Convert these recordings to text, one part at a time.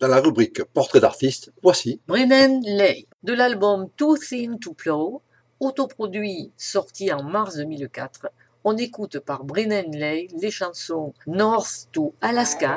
Dans la rubrique Portrait d'artiste, voici Brennan Leigh, de l'album Too Thin to Plow, autoproduit sorti en mars 2004. On écoute par Brennan Leigh les chansons North to Alaska.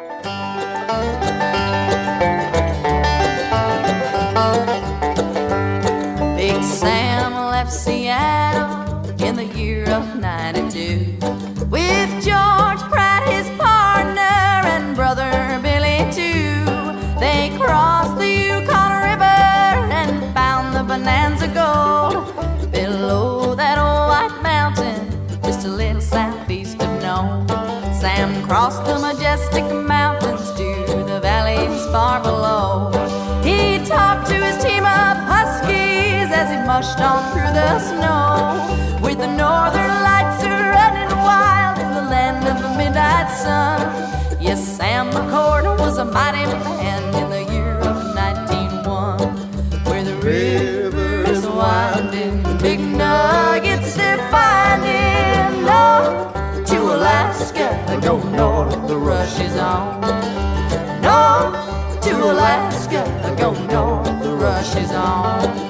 Big Sam left Seattle in the year of 92 with George Pratt, his partner, and brother Billy too. They crossed the Yukon River and found the Bonanza Gold below that old white mountain, just a little southeast of Nome. Sam crossed the majestic mountains to the valleys far below. He talked to his team of Huskies as he mushed on through the snow, with the northern lights running wild in the land of the midnight sun. Yes, Sam McCord was a mighty man in the year of 1901, where the river is winding, big nuggets they're finding. North to Alaska, go north, the rush is on. North to Alaska, go north, the rush is on.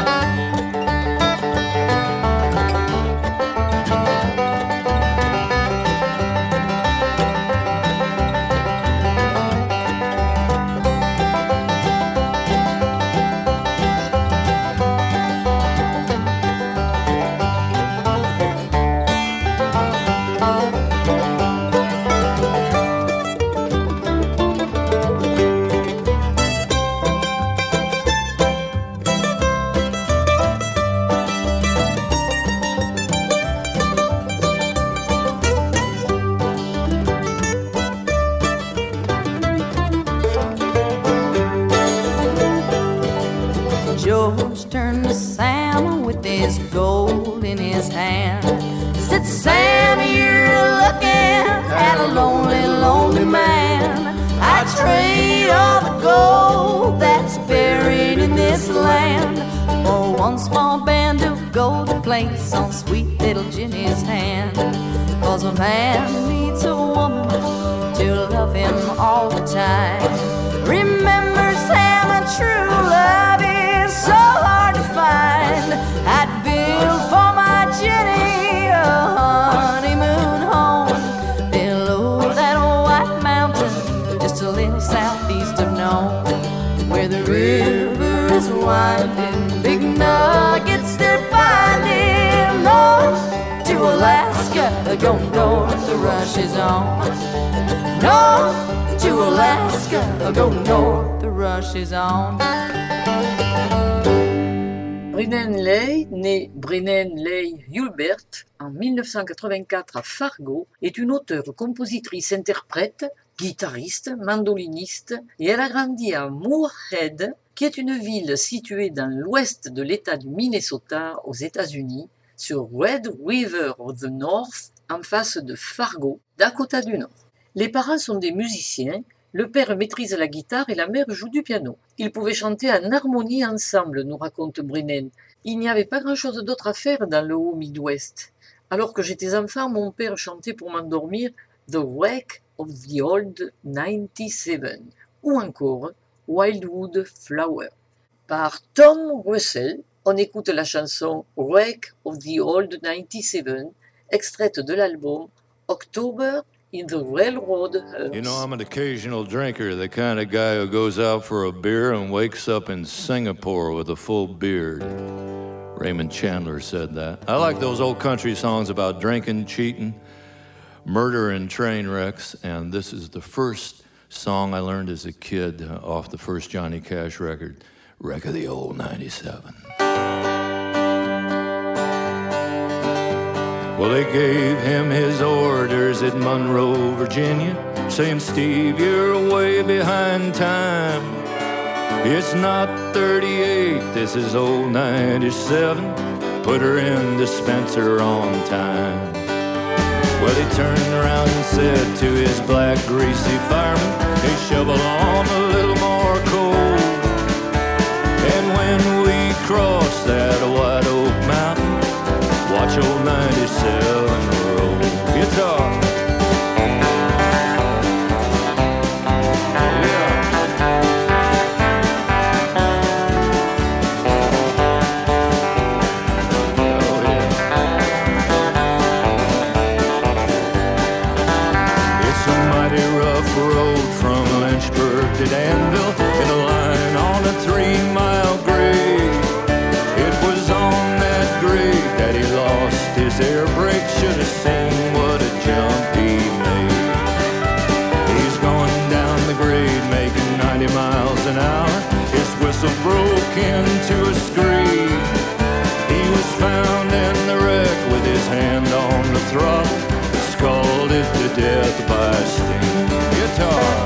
George turned to Sam with his gold in his hand. Said, Sam, you're looking at a lonely, lonely man. I trade all the gold that's buried in this land for one small band of gold to place on sweet little Jenny's hand. 'Cause a man needs a woman to love him all the time. Remember, Sam, a true love is so hard to find. I'd build for my Jenny a honeymoon home below that old white mountain, just a little southeast of Nome, where the river is winding, big nuggets they're finding. North to Alaska, go north, the rush is on. North to Alaska, go north, the rush is on. Brennan Leigh, né Brennan Leigh Hulbert en 1984 à Fargo, est une auteure, compositrice, interprète, guitariste, mandoliniste, et elle a grandi à Moorhead, qui est une ville située dans l'ouest de l'État du Minnesota aux États-Unis, sur Red River of the North, en face de Fargo, Dakota du Nord. Les parents sont des musiciens. Le père maîtrise la guitare et la mère joue du piano. Ils pouvaient chanter en harmonie ensemble, nous raconte Brennan. Il n'y avait pas grand-chose d'autre à faire dans le haut Midwest. Alors que j'étais enfant, mon père chantait pour m'endormir The Wreck of the Old 97 ou encore Wildwood Flower. Par Tom Russell, on écoute la chanson Wreck of the Old 97, extraite de l'album October in the Railroad Hearse. You know, I'm an occasional drinker, the kind of guy who goes out for a beer and wakes up in Singapore with a full beard. Raymond Chandler said that. I like those old country songs about drinking, cheating, murder, and train wrecks, and this is the first song I learned as a kid off the first Johnny Cash record, Wreck of the Old 97. Well, they gave him his orders at Monroe, Virginia, saying, Steve, you're way behind time. It's not 38, this is old 97. Put her in dispenser on time. Well, he turned around and said to his black, greasy fireman, hey, shovel on a little more coal. And when we cross that White Oak Mountain, watch old 97 roll. Guitar. Yeah. rusted anvil in a line on a 3-mile grade. It was on that grade that he lost his air brake. Should have seen what a jump he made. He's going down the grade making 90 miles an hour. His whistle broke into a scream. He was found in the wreck with his hand on the throttle, scalded to death by steam. Guitar.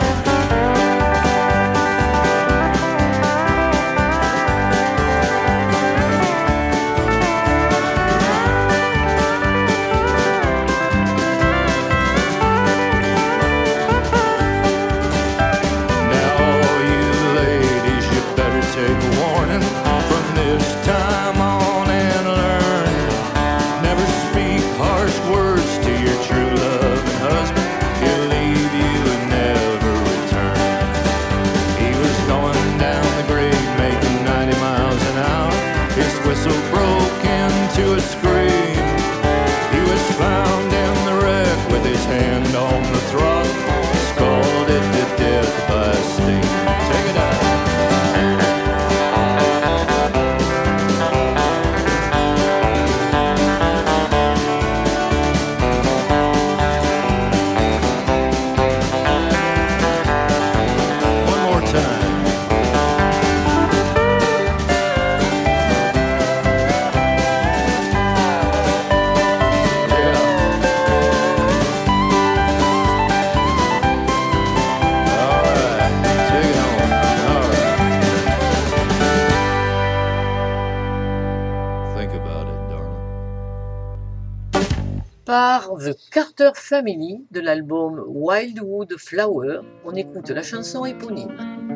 Par The Carter Family de l'album Wildwood Flower, on écoute la chanson éponyme.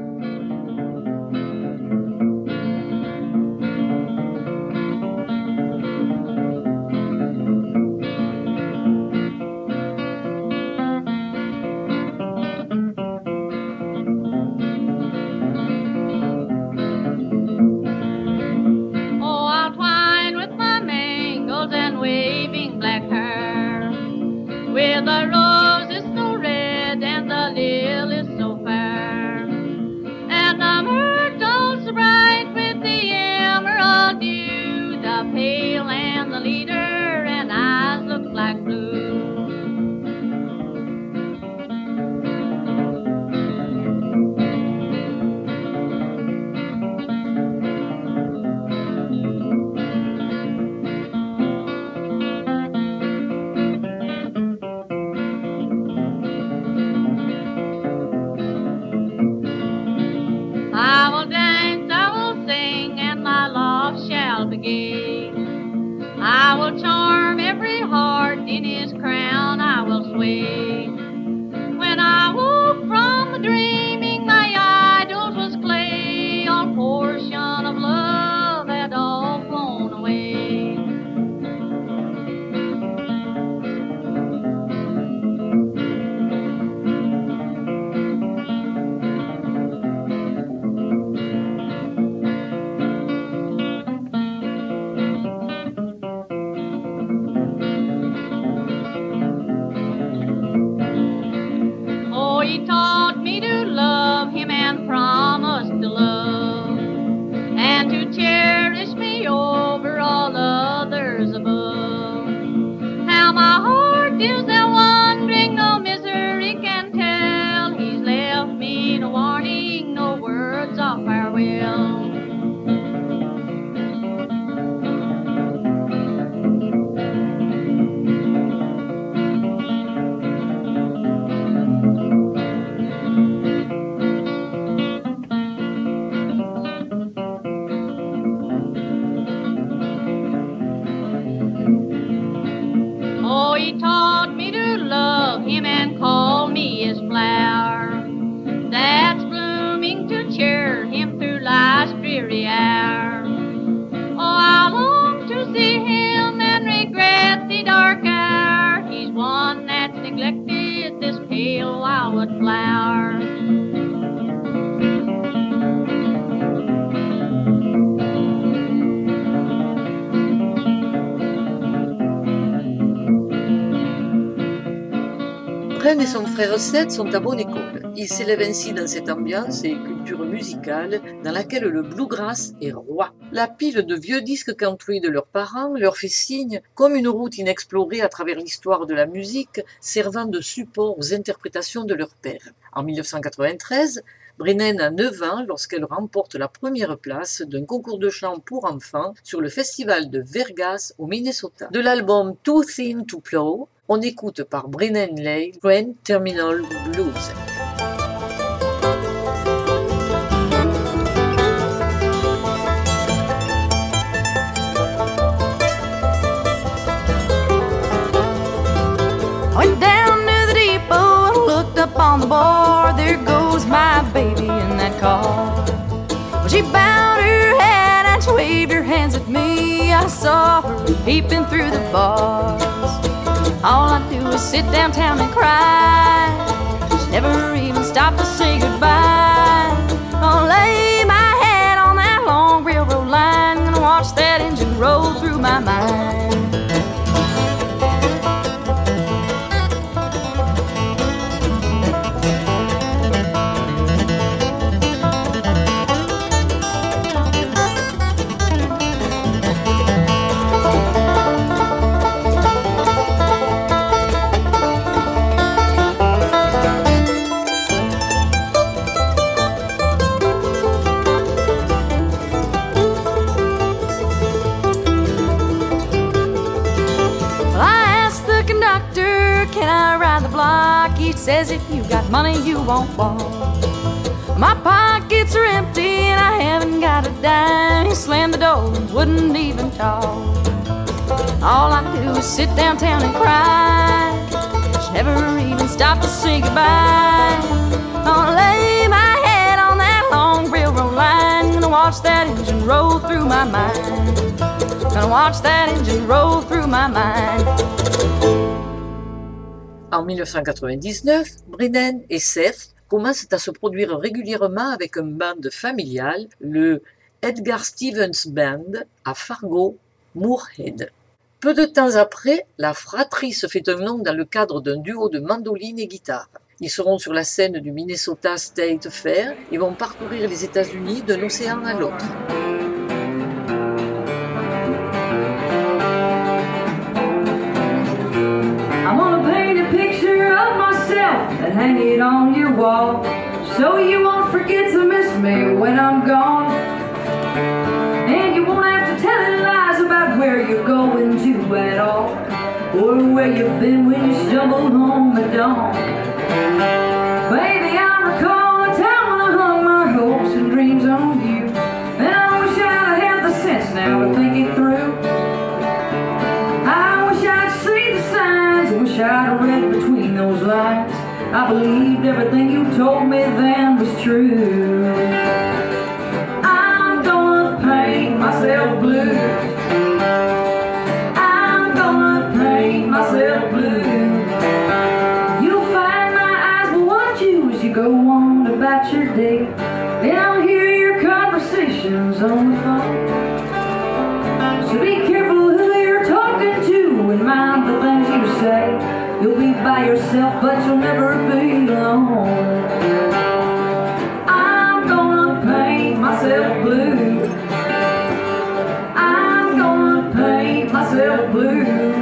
With the roses so red and the lilies so fair, and the myrtles bright with the emerald dew, the pale and the leader and eyes look like blue. I will charm every heart in his crown I will sway. When I woke from the dreaming, my idols was clay. All portion of love had all flown away. Fred et son frère Seth sont à bonne école. Ils s'élèvent ainsi dans cette ambiance et culture musicale dans laquelle le bluegrass est roi. La pile de vieux disques country de leurs parents leur fait signe comme une route inexplorée à travers l'histoire de la musique servant de support aux interprétations de leur père. En 1993, Brennan a 9 ans lorsqu'elle remporte la première place d'un concours de chant pour enfants sur le festival de Vegas au Minnesota. De l'album Too Thin to Plow, on écoute par Brennan Leigh Grand Terminal Blues. Went down to the depot and looked up on the bar. There goes my baby in that car. Well, she bowed her head and she waved her hands at me. I saw her peeping through the bars. All I do is sit downtown and cry. She never even stopped to say goodbye. I'll lay my head on that long railroad line and watch that engine roll through my mind. He says if you got money you won't walk. My pockets are empty and I haven't got a dime. He slammed the door and wouldn't even talk. All I do is sit downtown and cry. She never even stopped to say goodbye. I'll lay my head on that long railroad line. Gonna watch that engine roll through my mind. Gonna watch that engine roll through my mind. En 1999, Brennan et Seth commencent à se produire régulièrement avec un band familial, le Edgar Stevens Band, à Fargo, Moorhead. Peu de temps après, la fratrie se fait un nom dans le cadre d'un duo de mandoline et guitare. Ils seront sur la scène du Minnesota State Fair et vont parcourir les États-Unis d'un océan à l'autre. And hang it on your wall, so you won't forget to miss me when I'm gone. And you won't have to tell lies about where you're going to at all, or where you've been when you stumbled home at dawn. Baby, I recall a time when I hung my hopes and dreams on you, and I wish I'd had the sense now to think it through. I wish I'd seen the signs, wish I'd read between those lines. I believed everything you told me then was true. I'm gonna paint myself blue. I'm gonna paint myself blue. You'll find my eyes will watch you as you go on about your day. Then I'll hear your conversations on the phone. So be careful who you're talking to and mind the things you say. You'll be by yourself, but you'll never be alone. I'm gonna paint myself blue. I'm gonna paint myself blue.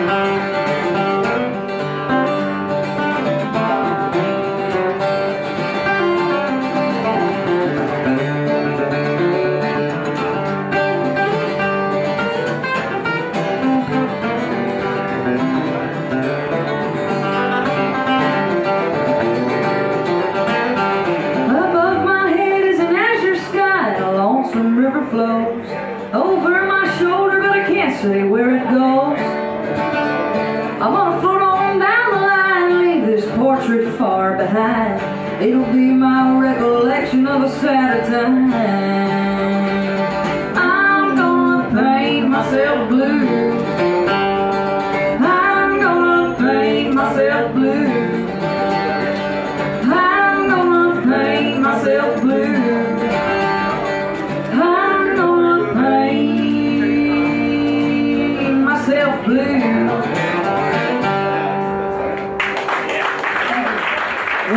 Flows over my shoulder, but I can't say where it goes. I'm gonna float on down the line, leave this portrait far behind. It'll be my recollection of a sad time. I'm gonna paint myself blue. I'm gonna paint myself blue. I'm gonna paint myself blue.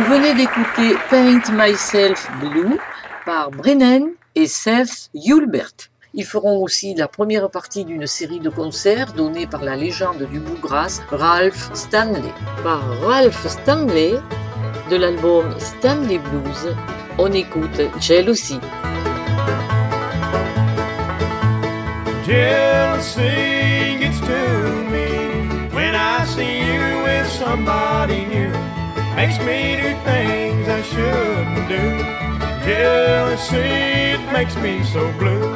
venez d'écouter Paint Myself Blue par Brennan et Seth Hulbert. Ils feront aussi la première partie d'une série de concerts donnés par la légende du bluegrass Ralph Stanley. Par Ralph Stanley, de l'album Stanley Blues, on écoute Jealousy. Jealousy gets to me when I see you with somebody new. Makes me do things I shouldn't do. Jealousy, it makes me so blue.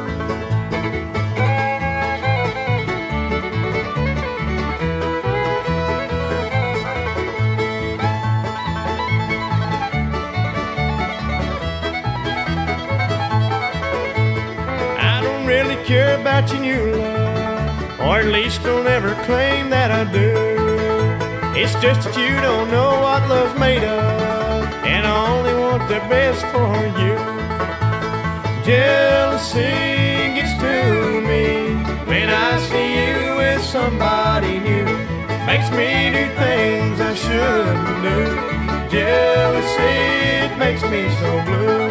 Care about your new love, or at least don't ever claim that I do. It's just that you don't know what love's made of, and I only want the best for you. Jealousy gets to me when I see you with somebody new. Makes me do things I shouldn't do. Jealousy, it makes me so blue.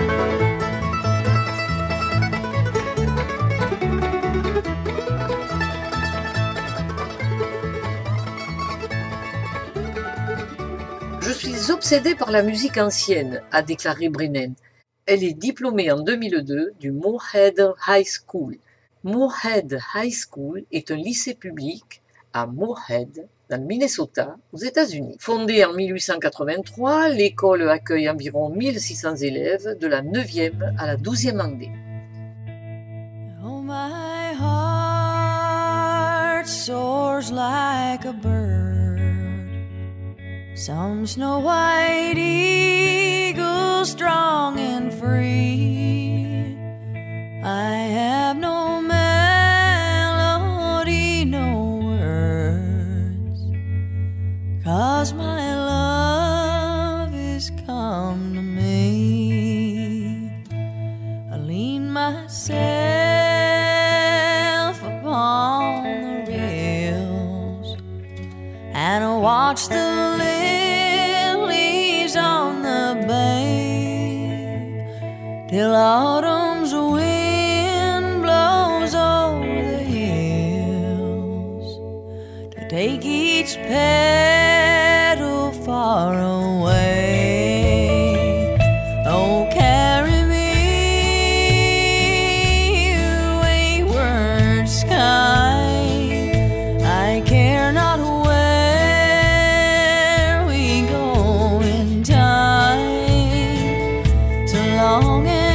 Je suis obsédée par la musique ancienne, a déclaré Brennan. Elle est diplômée en 2002 du Moorhead High School. Moorhead High School est un lycée public à Moorhead, dans le Minnesota, aux États-Unis. Fondée en 1883, l'école accueille environ 1600 élèves de la 9e à la 12e année. Oh, my heart soars like a bird. Some snow white eagle, strong and free. I have no melody, no words, 'cause my love is come to me. I lean myself upon the rails and I watch the till autumn's wind blows over the hills to take each petal far away. Oh, carry me, wayward sky. I care not where we go in time, so long as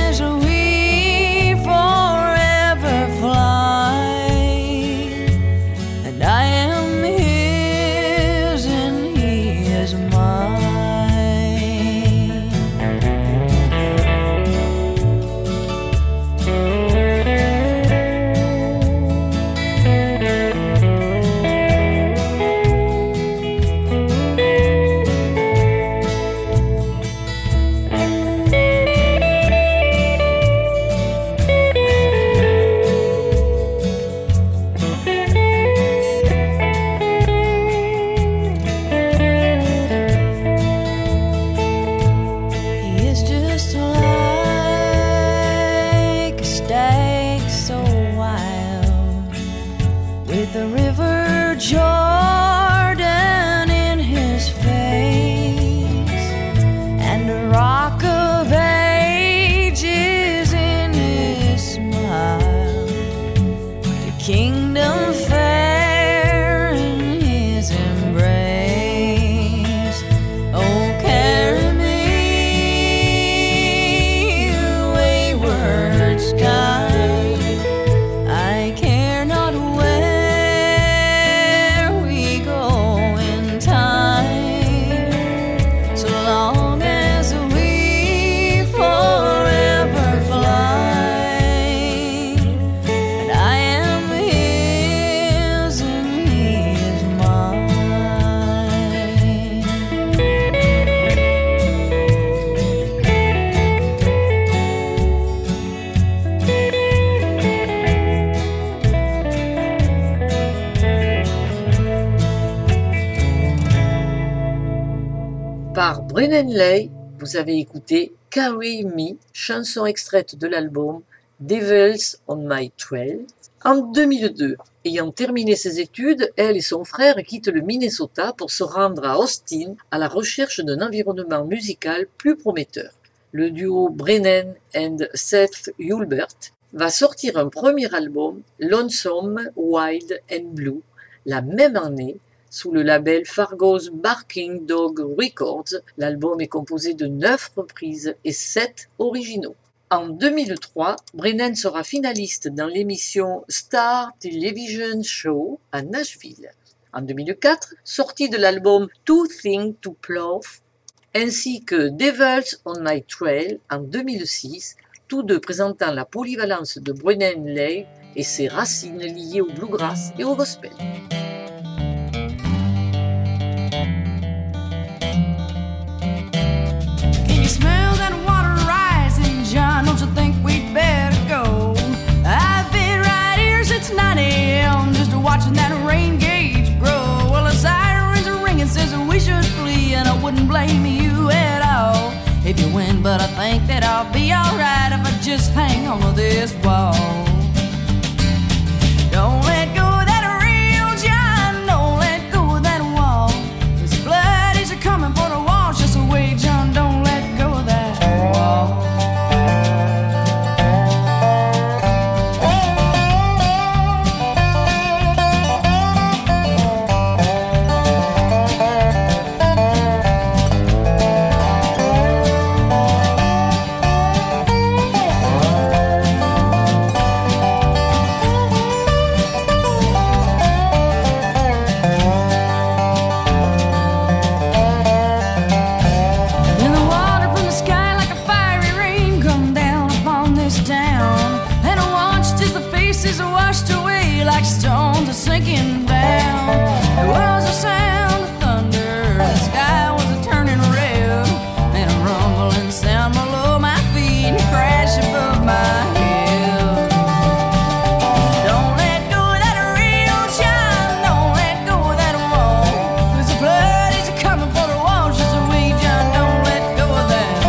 par Brennan Lay Vous avez écouté Carry Me, chanson extraite de l'album Devils on My Trail. En 2002, ayant terminé ses études, elle et son frère quittent le Minnesota pour se rendre à Austin à la recherche d'un environnement musical plus prometteur. Le duo Brennan and Seth Hulbert va sortir un premier album, Lonesome, Wild and Blue, la même année, sous le label Fargo's Barking Dog Records. L'album est composé de 9 reprises et 7 originaux. En 2003, Brennan sera finaliste dans l'émission Star Television Show à Nashville. En 2004, sortie de l'album Too Thing to Plow, ainsi que Devils on My Trail en 2006, tous deux présentant la polyvalence de Brennan Leigh et ses racines liées au bluegrass et au gospel. Can you smell that water rising, John? Don't you think we'd better go? I've been right here since 9 a.m. just watching that rain gauge grow. Well, the sirens are ringing, says we should flee, and I wouldn't blame you at all if you win, but I think that I'll be alright if I just hang on to this wall. Don't let go of that rail, John, don't let go of that wall. This blood is coming for the wash us away, John, don't let go of that wall. Sinking down, there was a sound of thunder, the sky was a turning red, and a rumbling sound below my feet and crash above my head. Don't let go of that rail, John, don't let go of that wall, 'cause the blood is coming for the wash us away, John, don't let go of that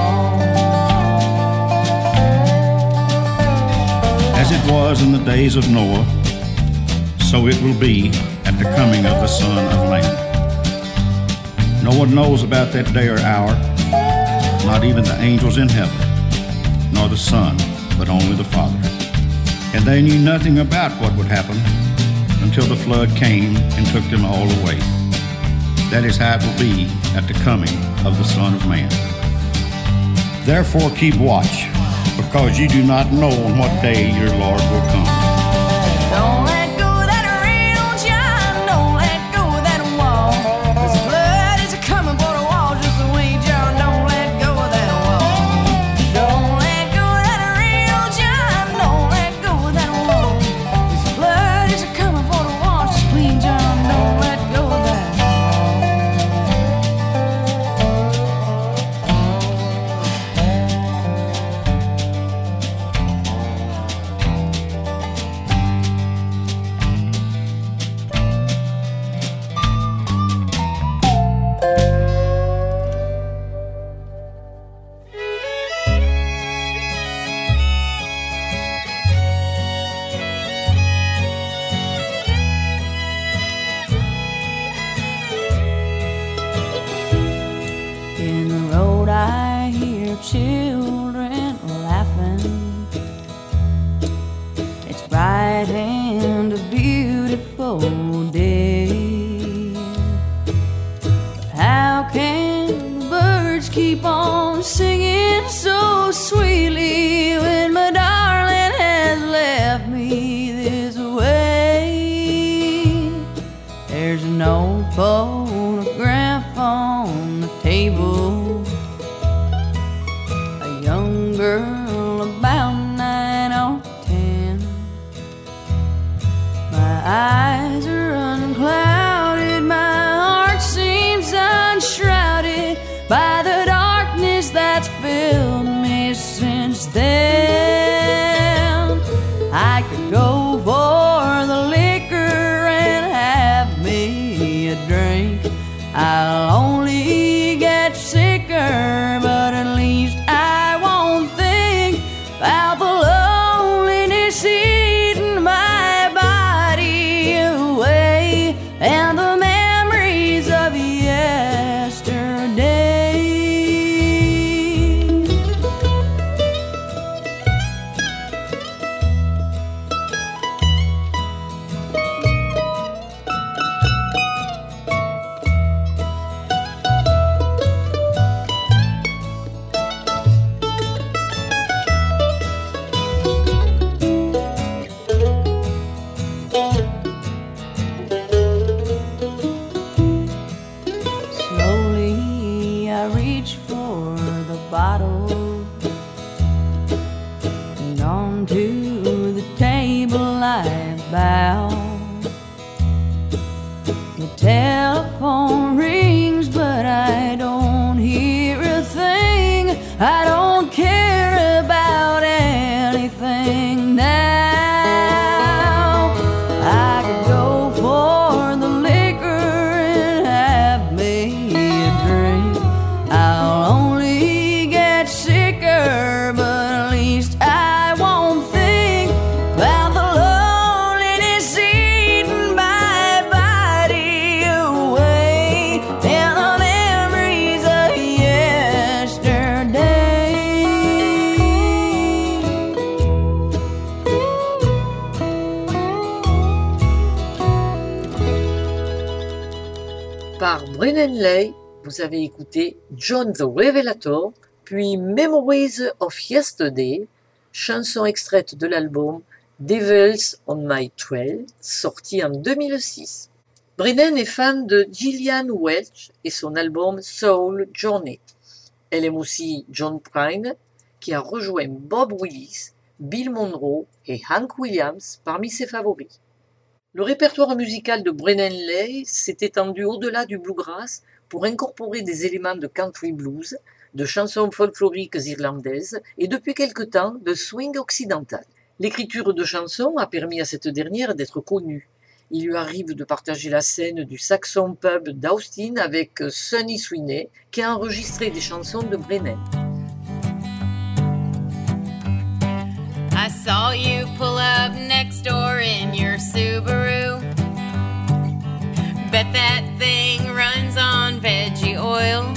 wall. As it was in the days of Noah, so it will be at the coming of the Son of Man. No one knows about that day or hour, not even the angels in heaven, nor the Son, but only the Father. And they knew nothing about what would happen until the flood came and took them all away. That is how it will be at the coming of the Son of Man. Therefore keep watch, because you do not know on what day your Lord will come. Don't let go of that rail, John, don't let go of that wall, 'cause the blood is coming for the wall just away, John, don't let go of that wall. Don't let go of that rail, John, don't let go of that wall, 'cause the blood is coming for the wall just clean, John, don't let go of that In the road I hear children laughing. It's bright and a beautiful day. How can the birds keep on singing so sweetly when my darling has left me this way? There's no photograph on the table. A young girl about 9 or 10. My eyes are unclouded, my heart seems unshrouded by the darkness that's filled me since then. I could go for the liquor and have me a drink. I'll only get sicker, but down to the table I bow. The telephone rings, but I don't hear a thing. I don't care about anything now. I could go for the liquor and have me a drink. I'll only get sicker, but at least I won't think about the loneliness eating my body away and the memories of yesterday. Par Brennan Leigh, vous avez écouté John the Revelator, puis Memories of Yesterday, chanson extraite de l'album Devils on My Trail, sorti en 2006. Brennan est fan de Gillian Welch et son album Soul Journey. Elle aime aussi John Prine, qui a rejoint Bob Willis, Bill Monroe et Hank Williams parmi ses favoris. Le répertoire musical de Brennan Leigh s'est étendu au-delà du bluegrass pour incorporer des éléments de country blues, de chansons folkloriques irlandaises et depuis quelque temps de swing occidental. L'écriture de chansons a permis à cette dernière d'être connue. Il lui arrive de partager la scène du Saxon Pub d'Austin avec Sonny Sweeney qui a enregistré des chansons de Brennan. I saw you pull up next door in your Subaru. Bet that thing runs on veggie oil.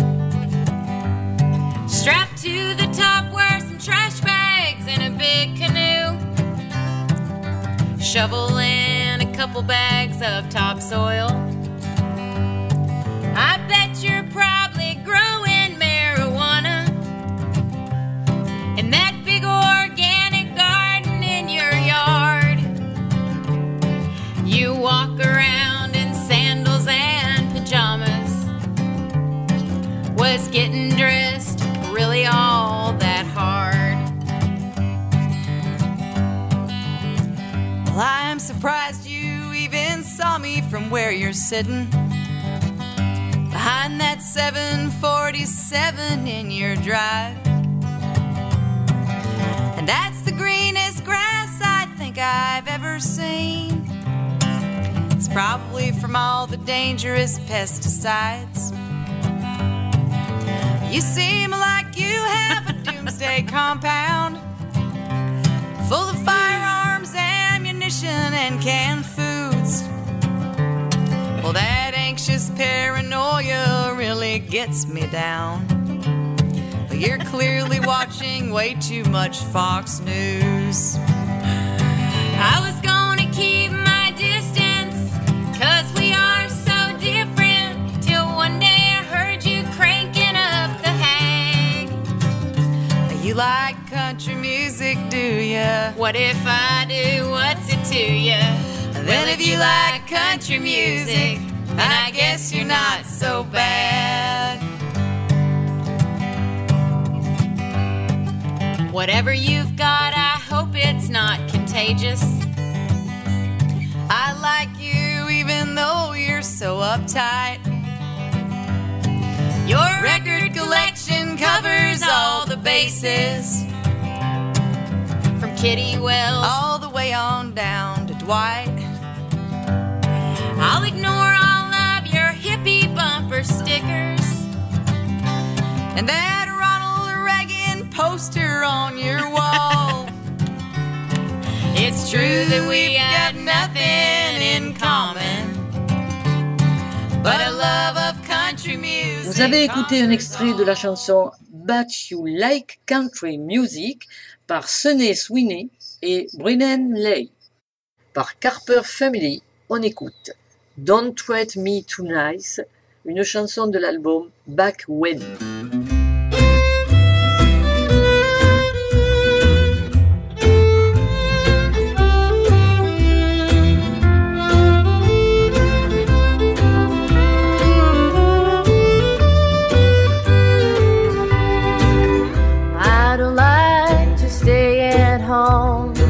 Strapped to the top were some trash bags and a big canoe. Shovel and a couple bags of topsoil. I bet you're probably growing marijuana in that big organic garden in your yard. You walk around in sandals and pajamas. Was getting dressed really all that hard? Well, I'm surprised you even saw me from where you're sitting behind that 747 in your drive. And that's the greenest grass I think I've ever seen. It's probably from all the dangerous pesticides. You seem like you have a doomsday compound full of firearms, ammunition, and canned foods. Well, that anxious paranoia really gets me down. But you're clearly watching way too much Fox News. I was gonna keep my distance, 'cause we are so different, till one day I heard you cranking up the hang. You like country music, do ya? What if I do? What's it to ya? Well, if you like country music, then I guess you're not so bad. Whatever you've got, I hope it's not contagious. I like you even though you're so uptight. Your record collection covers all the bases, From Kitty Wells all the way on down to Dwight. I'll ignore all of your hippie bumper stickers And that Ronald Reagan poster on your wall. It's true that we got nothing in common, but a love of country music. Vous avez écouté un extrait de la chanson But You Like Country Music par Sonny Sweeney et Brennan Leigh. Par Carper Family, on écoute Don't Treat Me Too Nice, une chanson de l'album Back When. I don't like to stay at home.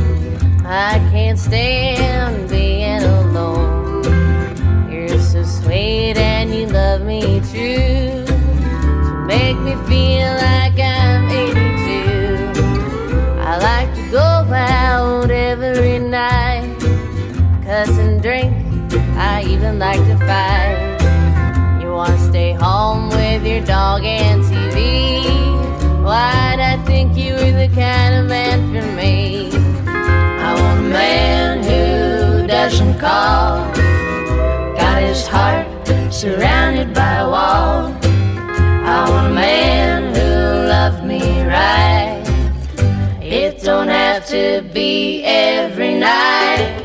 I can't stand being alone. You're so sweet and you love me true, to make me feel like I'm 82. I like to go out every night, cuss and drink, I even like to fight. You wanna stay home with your dog and TV, why'd I think you were the kind of man for me? I want a man who doesn't call, got his heart surrounded by a wall. I want a man who loves me right, it don't have to be every night.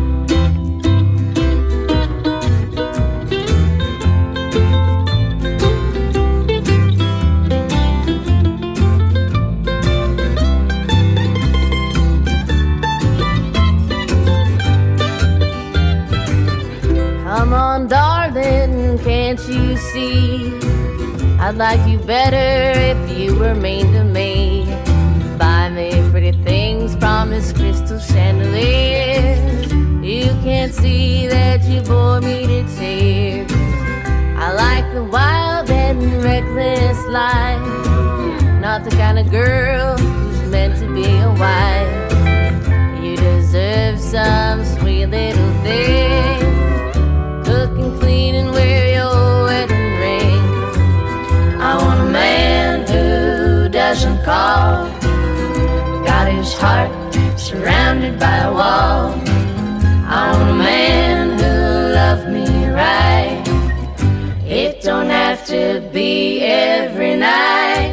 Come on, darling, can't you see? I'd like you better if you were mean to me. Buy me pretty things, promise crystal chandeliers. You can't see that you bore me to tears. I like the wild and reckless life, not the kind of girl who's meant to be a wife. You deserve some sweet little thing, cook and clean and wear your wedding ring. I want a man who doesn't call, got his heart surrounded by a wall. I want a man who loves me right, it don't have to be every night.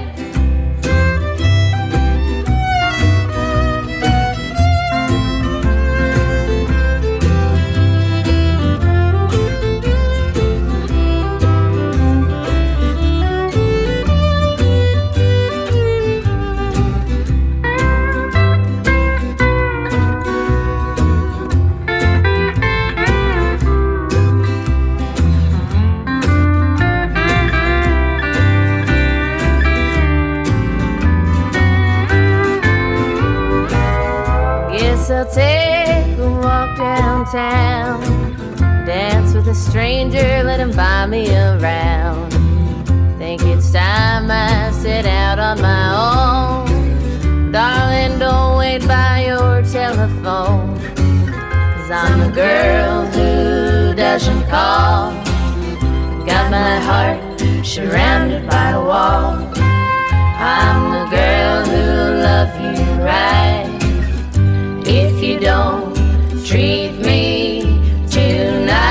I'll take a walk downtown, dance with a stranger, let him buy me around. Think it's time I set out on my own. Darling, don't wait by your telephone, 'cause I'm the girl who doesn't call, got my heart surrounded by a wall. I'm the girl who loves you right, if you don't treat me too nice.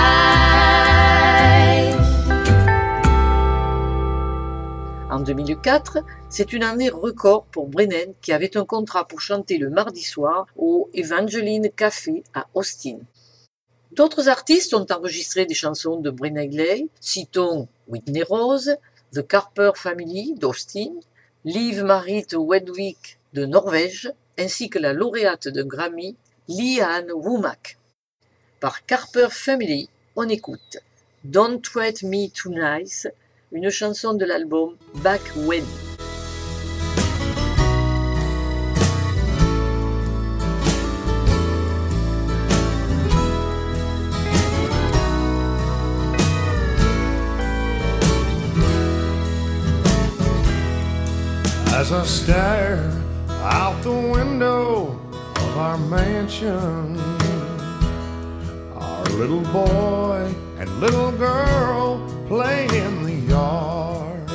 En 2004, c'est une année record pour Brennan, qui avait un contrat pour chanter le mardi soir au Evangeline Café à Austin. D'autres artistes ont enregistré des chansons de Brennan Leigh, citons Whitney Rose, The Carper Family d'Austin, Liv Marit Wedwig de Norvège, ainsi que la lauréate d'un Grammy, Lee-Ann Womack. Par Carper Family, on écoute Don't Treat Me Too Nice, une chanson de l'album Back When. As I stare out the window of our mansion, our little boy and little girl play in the yard,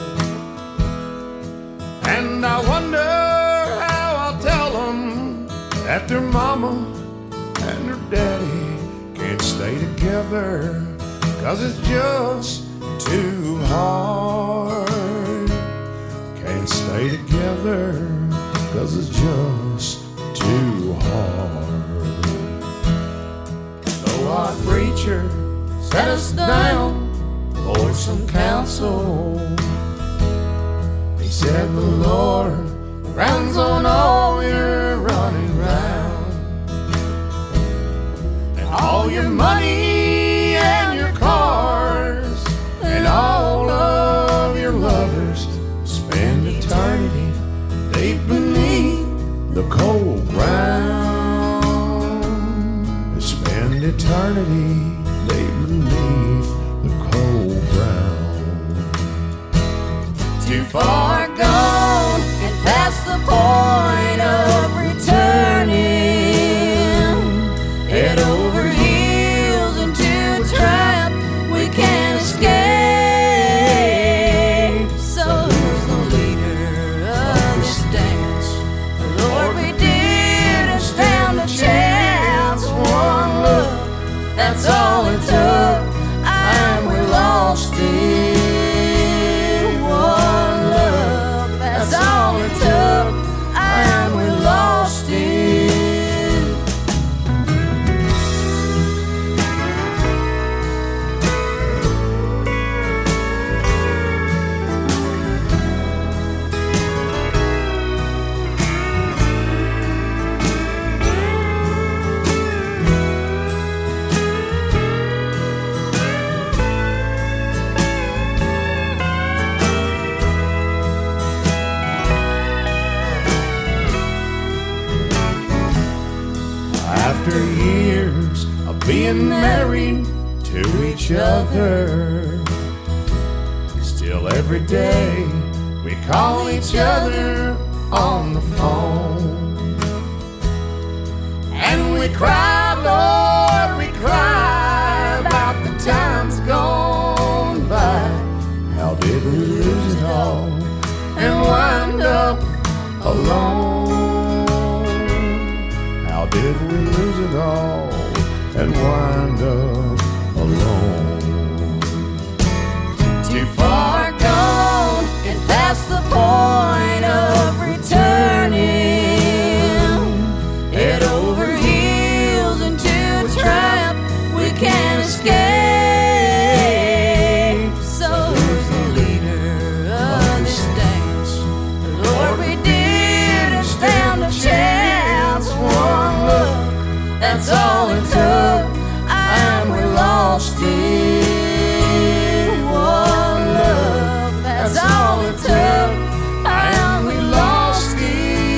and I wonder how I'll tell them that their mama and their daddy can't stay together, 'cause it's just too hard. Can't stay together, 'cause it's just too hard. So our preacher set us down for some counsel. He said the Lord frowns on all your running round, and all your money and your cars, and all of your lovers spend eternity deep beneath the cold ground. all it took, and we lost it. One love, that's all it took, and we lost it. After years of being married to each other, still every day we call each other on the phone. And we cry, Lord, we cry about the times gone by. How did we lose it all and wind up alone? How did we lose it all and wind up alone? Too far gone and past the point of returning. Head over heels into a trap we can't escape. So who's the leader of this dance? Lord, we didn't stand a chance. One look, that's all it took, and we lost it. One love, that's all it took, and we lost it.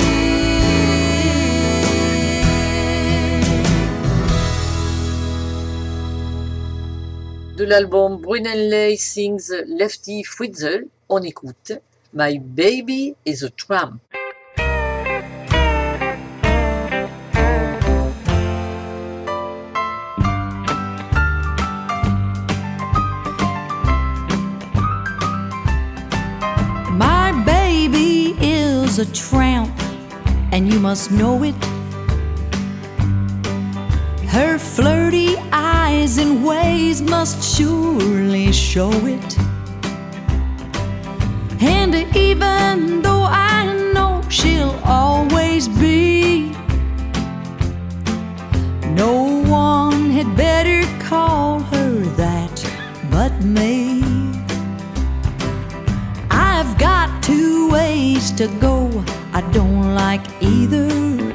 De l'album Bruneley Sings Lefty Fritzl, on écoute My Baby is a Tramp. My baby is a tramp, and you must know it. Her flirty eyes and ways must surely show it. And even though I know she'll always be, no one had better call her that but me. I've got 2 ways to go, I don't like either,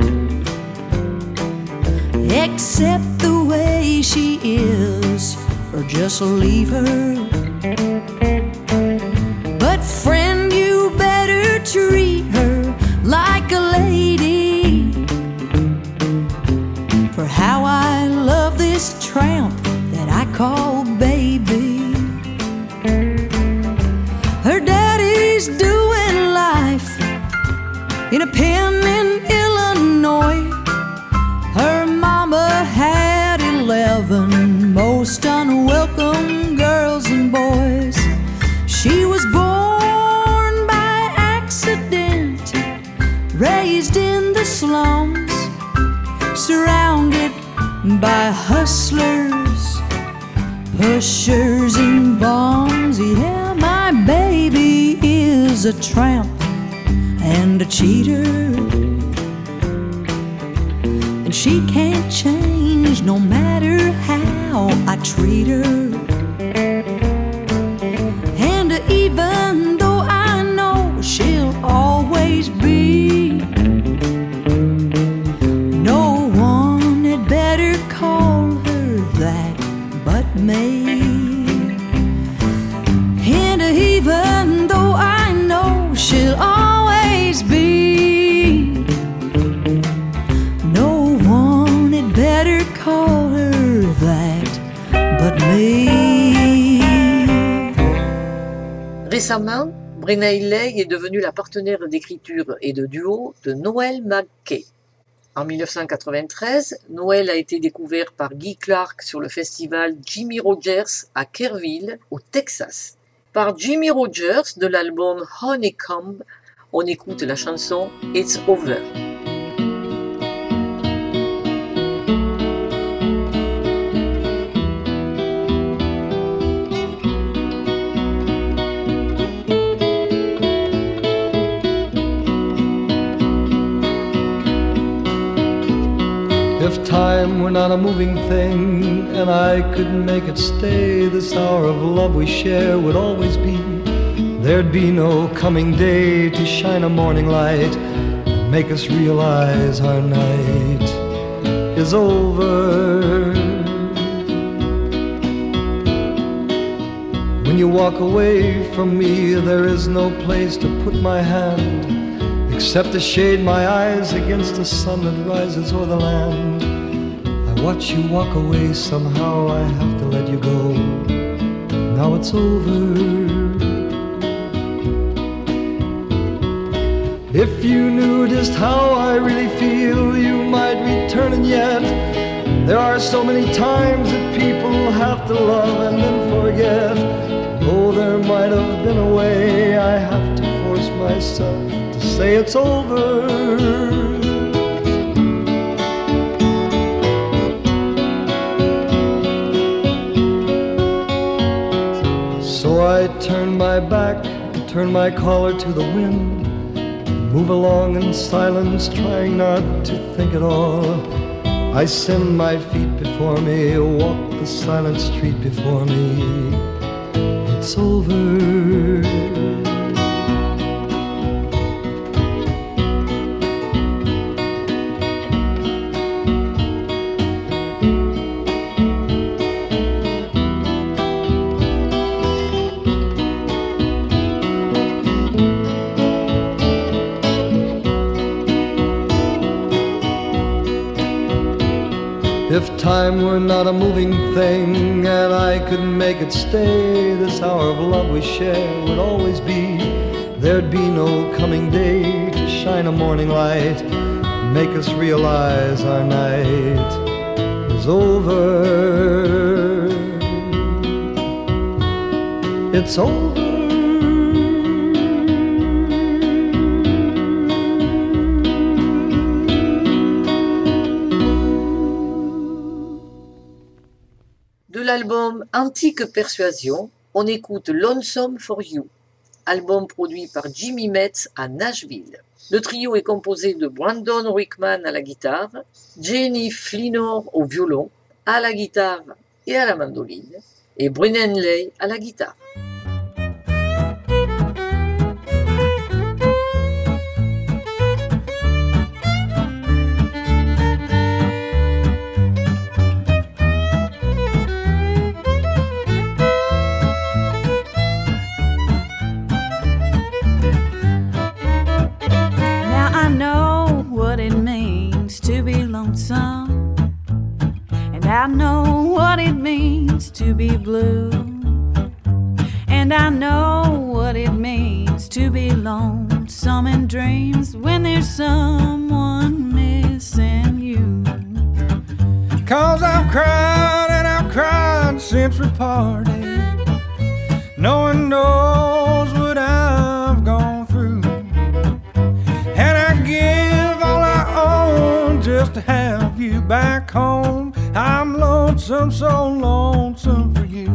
except the way she is, or just leave her. But friend, you better treat her like a lady, for how I love this tramp that I call baby. Her daddy's doing life in a pen in Illinois. Her mama had 11 most unwelcome girls and boys. She was born by accident, raised in the slums, surrounded by hustlers, pushers and bums. Yeah, my baby is a tramp and a cheater, and she can't change no matter how I treat her. And even though I know she'll always be, no one had better call her that but me. And even though I know she'll always be, no one had better call her that but me. Récemment, Bruneley est devenue la partenaire d'écriture et de duo de Noel McKay. En 1993, Noel a été découvert par Guy Clark sur le festival Jimmy Rogers à Kerrville, au Texas. Par Jimmy Rogers de l'album Honeycomb, on écoute la chanson It's Over. If time were not a moving thing and I could make it stay, this hour of love we share would always be. There'd be no coming day to shine a morning light and make us realize our night is over. When you walk away from me, there is no place to put my hand except to shade my eyes against the sun that rises o'er the land. I watch you walk away, somehow I have to let you go. Now it's over. If you knew just how I really feel, you might return, and yet there are so many times that people have to love and then forget. Oh, there might have been a way, I have to force myself to say it's over. So I turn my back, turn my collar to the wind, move along in silence, trying not to think at all. I send my feet before me, walk the silent street before me. It's over. If time were not a moving thing and I could make it stay, this hour of love we share would always be. There'd be no coming day to shine a morning light, make us realize our night is over. It's over. De l'album Antique Persuasion, on écoute Lonesome for You, album produit par Jimmy Metz à Nashville. Le trio est composé de Brandon Rickman à la guitare, Jenny Fleenor au violon, à la guitare et à la mandoline, et Brennan Lay à la guitare. And I know what it means to be blue, and I know what it means to be lonesome in dreams when there's someone missing you. 'Cause I've cried and I've cried since we parted. No one knows what I've gone through, and I give all I own just to have you back home. I'm lonesome, so lonesome for you.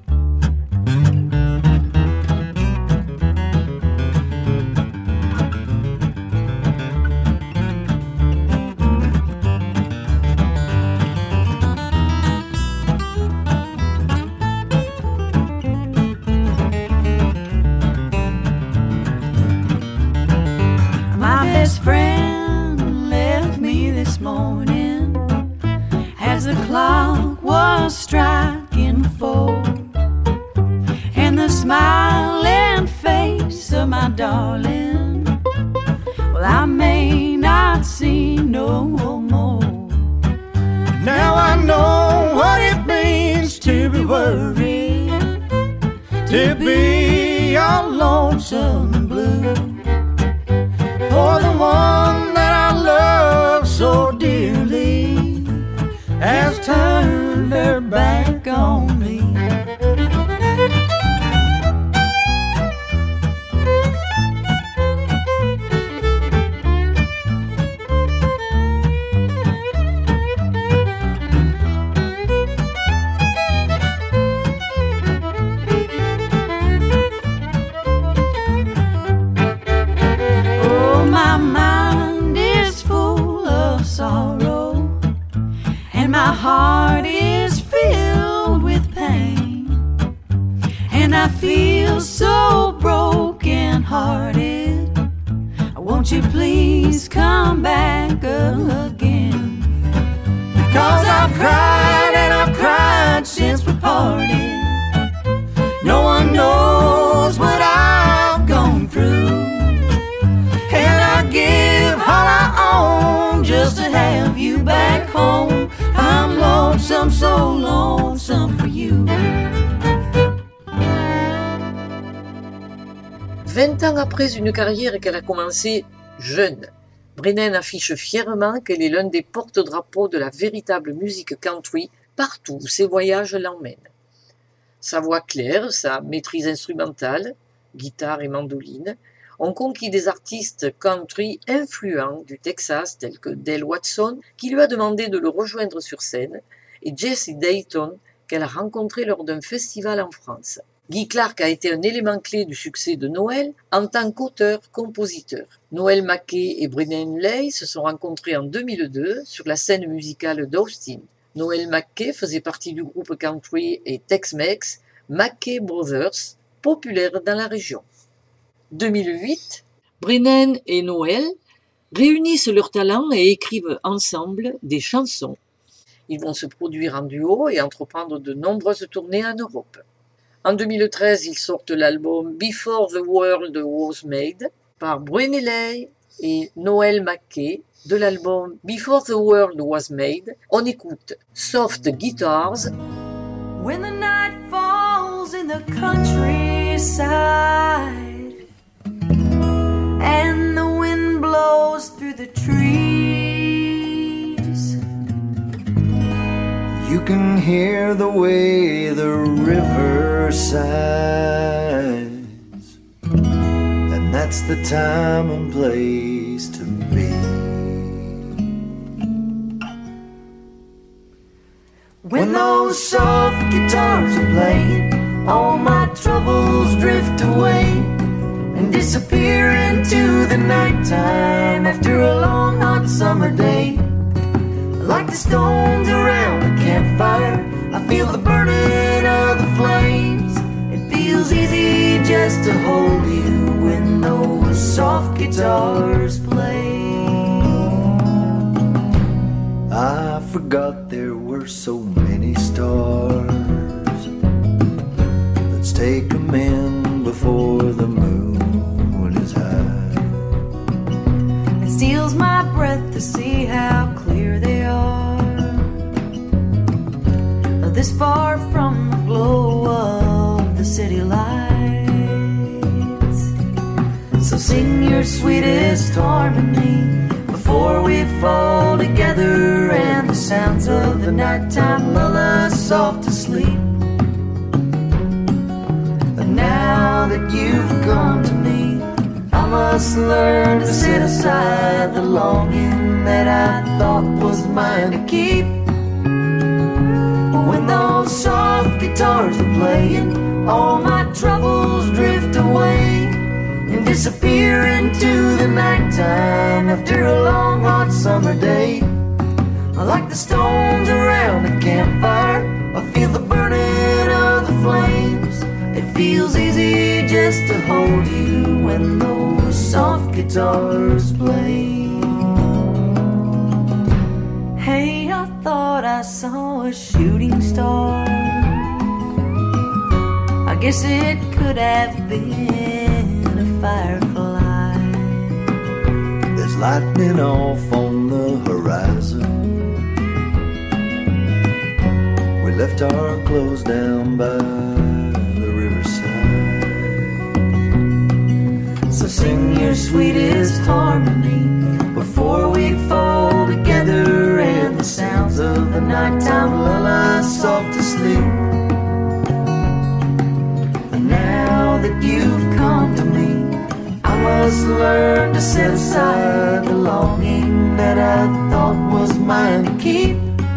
My best friend left me this morning as the clock was striking 4, and the smiling face of my darling, well, I may not see no more. Now I know what it means to be worried, to be all lonesome and blue, for the one that I love so dearly has turned her back on me. Oh, my mind is full of sorrow, My heart is filled with pain, and I feel so broken-hearted. Won't you please come back again? Because I've cried and I've cried since we parted. No one knows what I've gone through, and I give all I own just to have you back home. I'm lonesome, so lonesome for you. 20 ans après une carrière qu'elle a commencée jeune, Brennan affiche fièrement qu'elle est l'un des porte-drapeaux de la véritable musique country partout où ses voyages l'emmènent. Sa voix claire, sa maîtrise instrumentale, guitare et mandoline, ont conquis des artistes country influents du Texas tels que Dale Watson, qui lui a demandé de le rejoindre sur scène, et Jesse Dayton, qu'elle a rencontré lors d'un festival en France. Guy Clark a été un élément clé du succès de Noel en tant qu'auteur-compositeur. Noel Mackay et Brennan Leigh se sont rencontrés en 2002 sur la scène musicale d'Austin. Noel Mackay faisait partie du groupe country et Tex-Mex Mackay Brothers, populaire dans la région. 2008, Brennan et Noel réunissent leurs talents et écrivent ensemble des chansons. Ils vont se produire en duo et entreprendre de nombreuses tournées en Europe. En 2013, ils sortent l'album Before the World Was Made par Brennan Leigh et Noel Mackay. De l'album Before the World Was Made, on écoute Soft Guitars. When the night falls in the countryside and the wind blows through the trees, You can hear the way the river sighs, and that's the time and place to be. When those soft guitars are playing, all my troubles drift away and disappear into the nighttime after a long hot summer day. Like the stones around a campfire, I feel the burning of the flames. It feels easy just to hold you when those soft guitars play. I forgot there were so many stars. Let's take 'em in before the moon is high. it steals my breath to see how clear they are, this far from the glow of the city lights. So sing your sweetest harmony before we fall together, and the sounds of the nighttime lull us soft to sleep. And now that you've come to me, I must learn to set aside the longing that I thought was mine to keep. When those soft guitars are playing, all my troubles drift away and disappear into the nighttime after a long hot summer day. Like the stones around a campfire, I feel the burning of the flames. It feels easy just to hold you when those soft guitars play. Hey, I thought I saw a shooting star. I guess it could have been a firefly. There's lightning off on the horizon. We left our clothes down by the riverside. So sing your sweetest harmony before we fall together, and the sounds of the nighttime lull us soft to sleep. And now that you've come to me, I must learn to set aside the longing that I thought was mine to keep.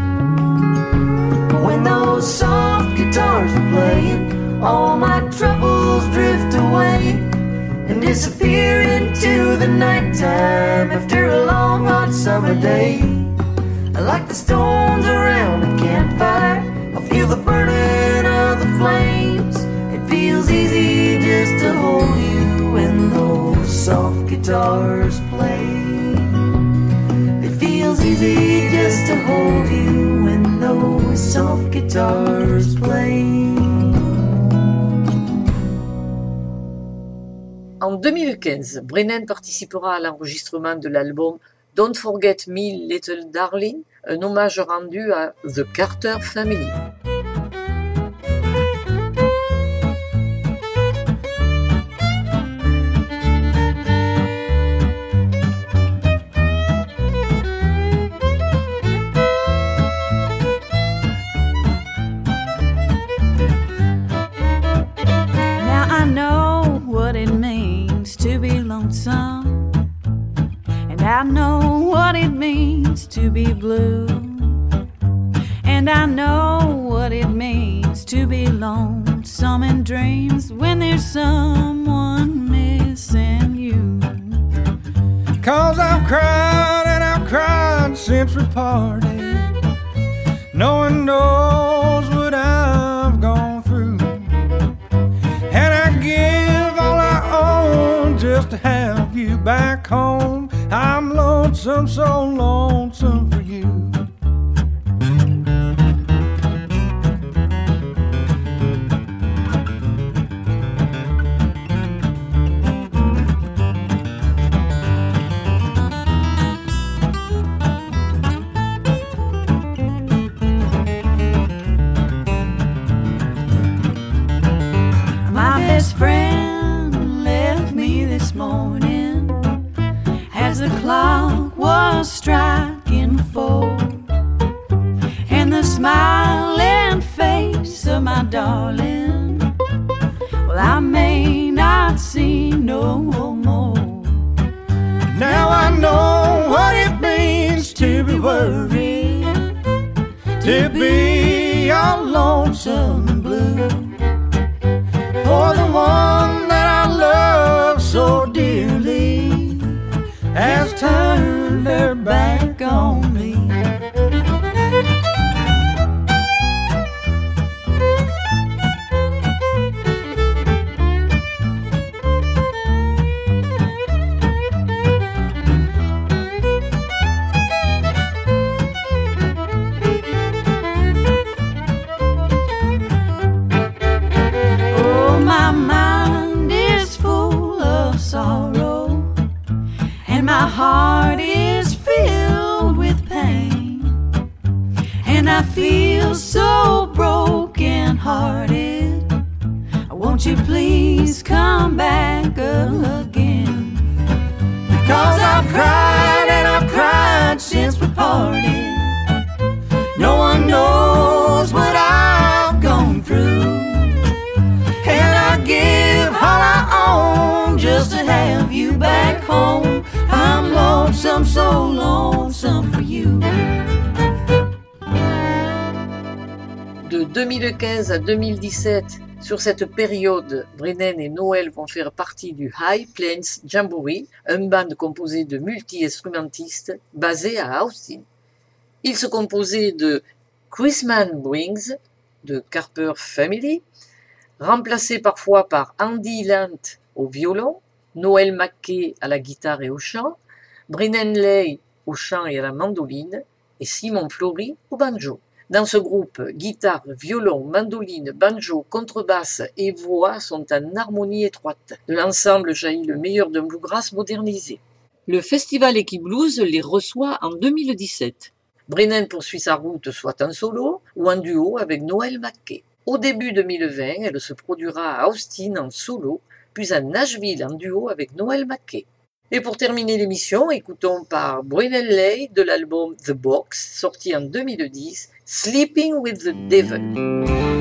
When those soft guitars are playing, all my troubles drift away and disappear into the nighttime after a long hot summer day. Like the stones around guitars play. It feels easy just to hold you when those soft guitars play. En 2015, Brennan participera à l'enregistrement de l'album Don't Forget Me Little Darling, un hommage rendu à The Carter Family. Now I know what it means to be lonesome, and I know what it means to be blue, and I know what it means to be lonesome in dreams when there's someone missing you. 'Cause I've cried and I've cried since we parted. No one knows what I've gone through, and I give all I own just to have you back home. I'm lonesome, so lonesome for you. My best friend left me this morning as the clock was striking 4, and the smiling face of my darling, well, I may not see no more. Now I know what it means to be worried, to be all lonesome and blue, for the one that I love so dearly has turned her back on me. Oh, my mind is full of sorrow, and my heart is filled with pain, and I feel so broken hearted. Won't you please come back again? Because I've cried and I've cried since we parted. No one knows what I've gone through, and I give all I own just to have you back home. I'm lonesome, so lonesome for you. De 2015 à 2017, sur cette période, Brennan et Noel vont faire partie du High Plains Jamboree, un band composé de multi-instrumentistes basé à Austin. Il se composait de Chrisman Briggs, de Carter Family, remplacé parfois par Andy Lant au violon, Noel Mackay à la guitare et au chant, Brennan Leigh au chant et à la mandoline, et Simon Flory au banjo. Dans ce groupe, guitare, violon, mandoline, banjo, contrebasse et voix sont en harmonie étroite. De l'ensemble jaillit le meilleur d'un bluegrass modernisé. Le festival Equiblues les reçoit en 2017. Brennan poursuit sa route soit en solo ou en duo avec Noel Mackay. Au début 2020, elle se produira à Austin en solo, puis à Nashville en duo avec Noel Mackay. Et pour terminer l'émission, écoutons par Brennan Leigh de l'album The Box, sorti en 2010, Sleeping with the Devil.